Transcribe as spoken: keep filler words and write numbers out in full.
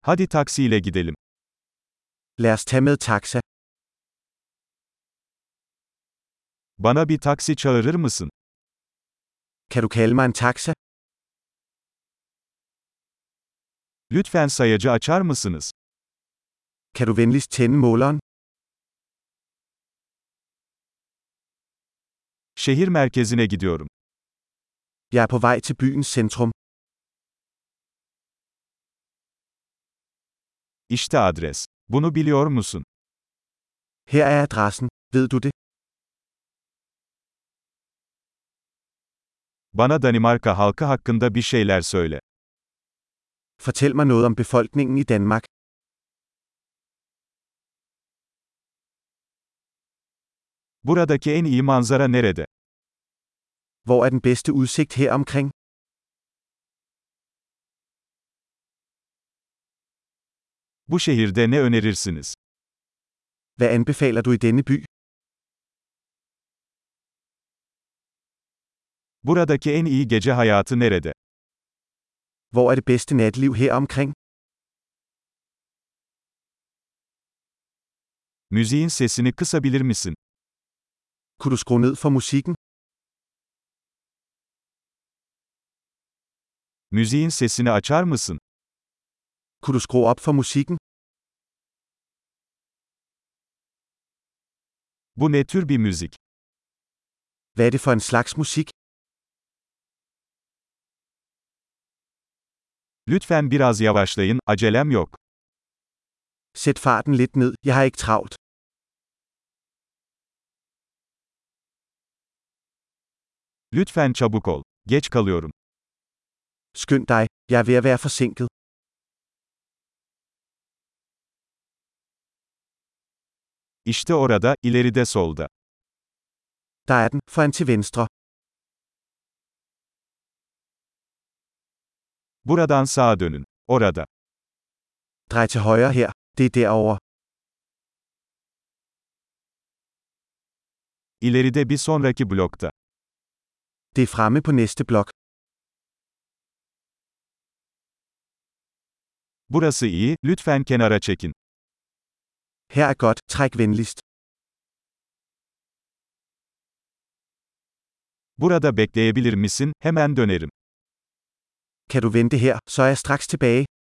Hadi taksiyle gidelim. Lad os tage med taxa. Bana bir taksi çağırır mısın? Kan du kalde mig en taxa? Lütfen sayacı açar mısınız? Kan du venligst tænde måleren? Şehir merkezine gidiyorum. Jeg er på vej til byens centrum. İşte adres. Bunu biliyor musun? Her er adressen. Ved du det? Bana Danimarka halkı hakkında bir şeyler söyle. Fortæl mig noget om befolkningen i Danmark. Buradaki en iyi manzara nerede? Hvor er den bedste udsigt her omkring? Bu şehirde ne önerirsiniz? Hvad anbefaler du i denne by? Buradaki en iyi gece hayatı nerede? Hvor er det bedste natliv her omkring? Müziğin sesini kısabilir misin? Kunne du skrue ned for musikken? Müziğin sesini açar mısın? Kunne du skrue op for musikken? Bu ne tür bir müzik? Hvad er det for en slags musik? Lütfen biraz yavaşlayın, acelem yok. Sæt farten lidt ned, jeg har ikke travlt. Lütfen çabuk ol. Geç kalıyorum. Skynd dig, jeg er ved at være forsinket. İşte orada, ileride solda. Der er den, foran til venstre. Buradan sağa dönün. Orada. Drej til højre her, det er derovre. İleride bir sonraki blokta. Det er fremme på næste blok. Burası iyi, lütfen kenara çekin. Her er godt, træk venligst. Burada bekleyebilir misin? Hemen dönerim. Kan du vente her, så er jeg straks tilbage.